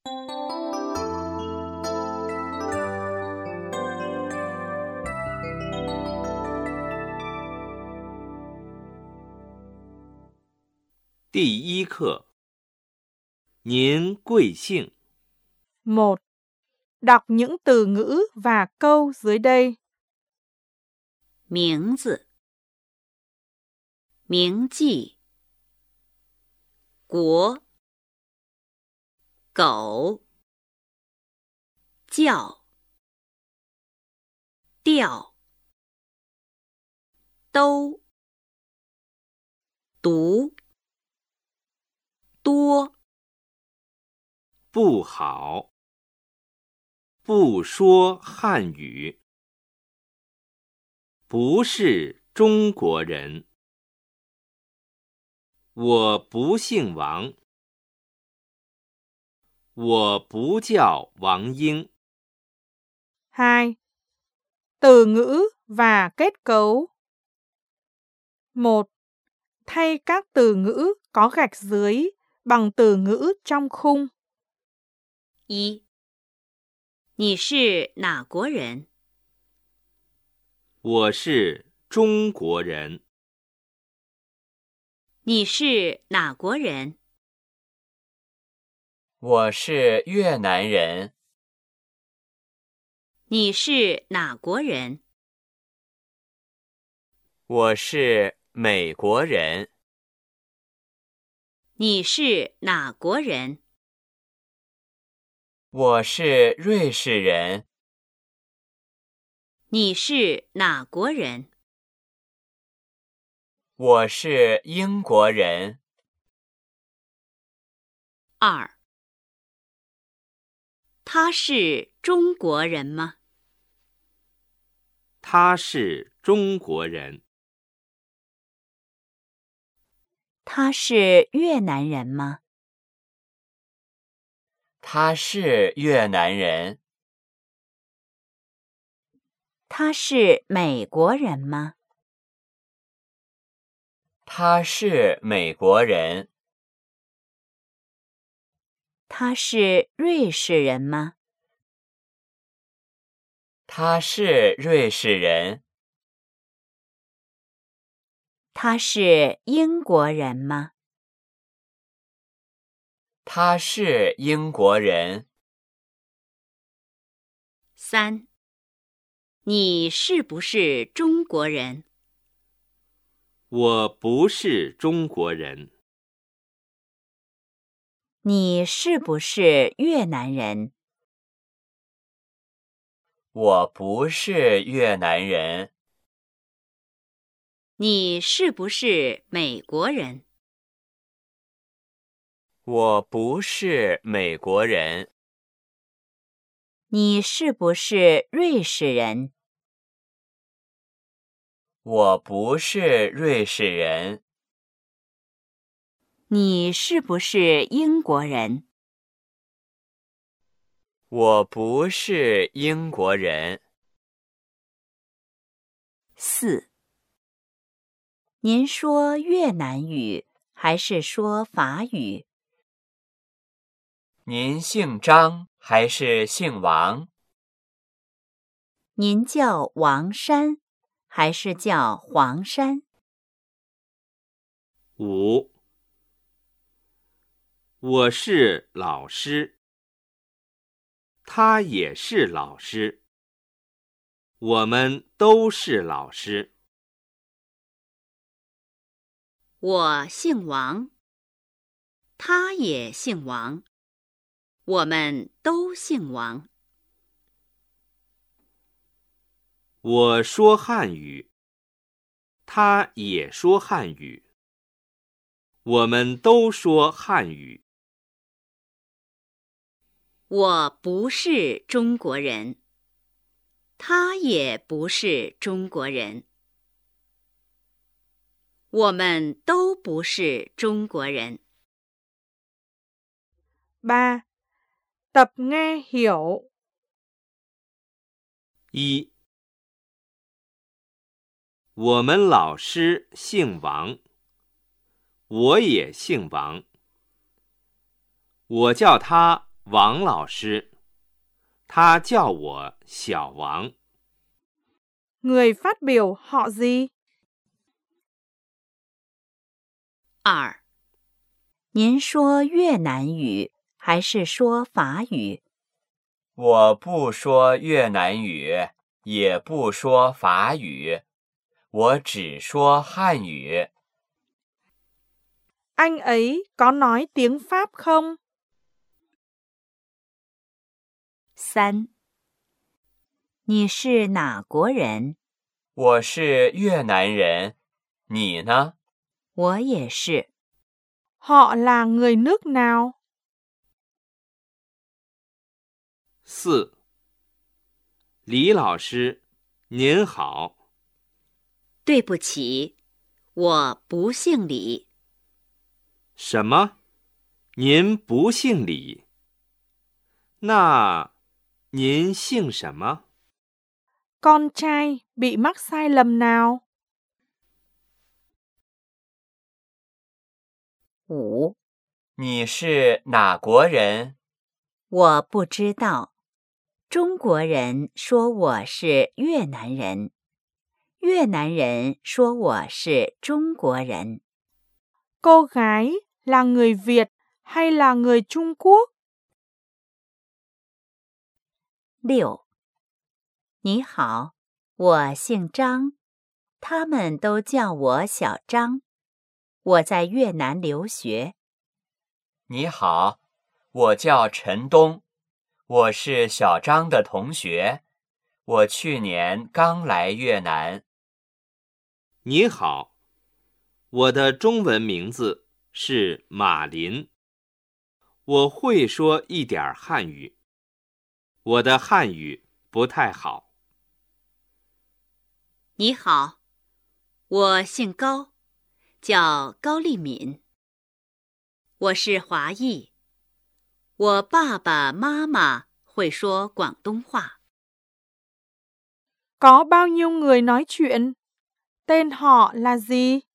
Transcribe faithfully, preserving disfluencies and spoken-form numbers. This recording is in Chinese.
第一课，您贵姓？ một. Đọc những từ ngữ và câu dưới đây. 名字、铭记、国、狗、叫、调、都、读、多、 不好，不说汉语，不是中国人。我不姓王，我不叫王英。 hai. Từ ngữ và kết cấu. một. Thay các từ ngữ có gạch dưới bằng từ ngữ trong khung. 一，你是哪国人？ 我是中国人。 你是哪国人？ 我是越南人。 你是哪国人？ 我是美国人。 你是哪国人？ 我是瑞士人。 你是哪国人？ 我是英国人。 二，他是中国人吗？ 他是中国人。 他是越南人吗？ 他是越南人。 他是美国人吗？ 他是美国人。 他是瑞士人吗？ 他是瑞士人。 他是英国人吗？ 他是英国人。 三，你是不是中国人？ 我不是中国人。 你是不是越南人？ 我不是越南人。 你是不是美国人？ 我不是美国人。 你是不是瑞士人？ 我不是瑞士人。 你是不是英国人？ 我不是英国人。 四，您说越南语还是说法语？ 您姓张还是姓王？ 您叫王山还是叫黄山？ 五，我是老师，他也是老师，我们都是老师。 我姓王，他也姓王，我们都姓王。 我说汉语，他也说汉语，我们都说汉语。 我不是中国人，他也不是中国人，我们都不是中国人。 ba. Tập nghe hiểu. 一，我们老师姓王，我也姓王，我叫他王老师，他叫我小王。 Người phát biểu họ gì? 二， 您说越南语还是说法语？ 我不说越南语，也不说法语，我只说汉语。 Anh ấy có nói tiếng Pháp không? 三，你是哪国人？ 我是越南人，你呢？ 我也是。 Họ là người nước nào? 四，李老师，您好。 对不起，我不姓李。 什么？您不姓李？那您姓什么？ Con trai bị mắc sai lầm nào? 五， 你是哪国人？ 我不知道。中国人说我是越南人，越南人说我是中国人。 Cô gái là người Việt hay là người Trung Quốc? 六，你好，我姓张，他们都叫我小张。我在越南留学。 你好，我叫陈东，我是小张的同学，我去年刚来越南。 你好，我的中文名字是马林，我会说一点汉语，我的汉语不太好。 你好，我姓高，叫高丽敏。我是华裔，我爸爸妈妈会说广东话。 Có bao nhiêu người nói chuyện? Tên họ là gì?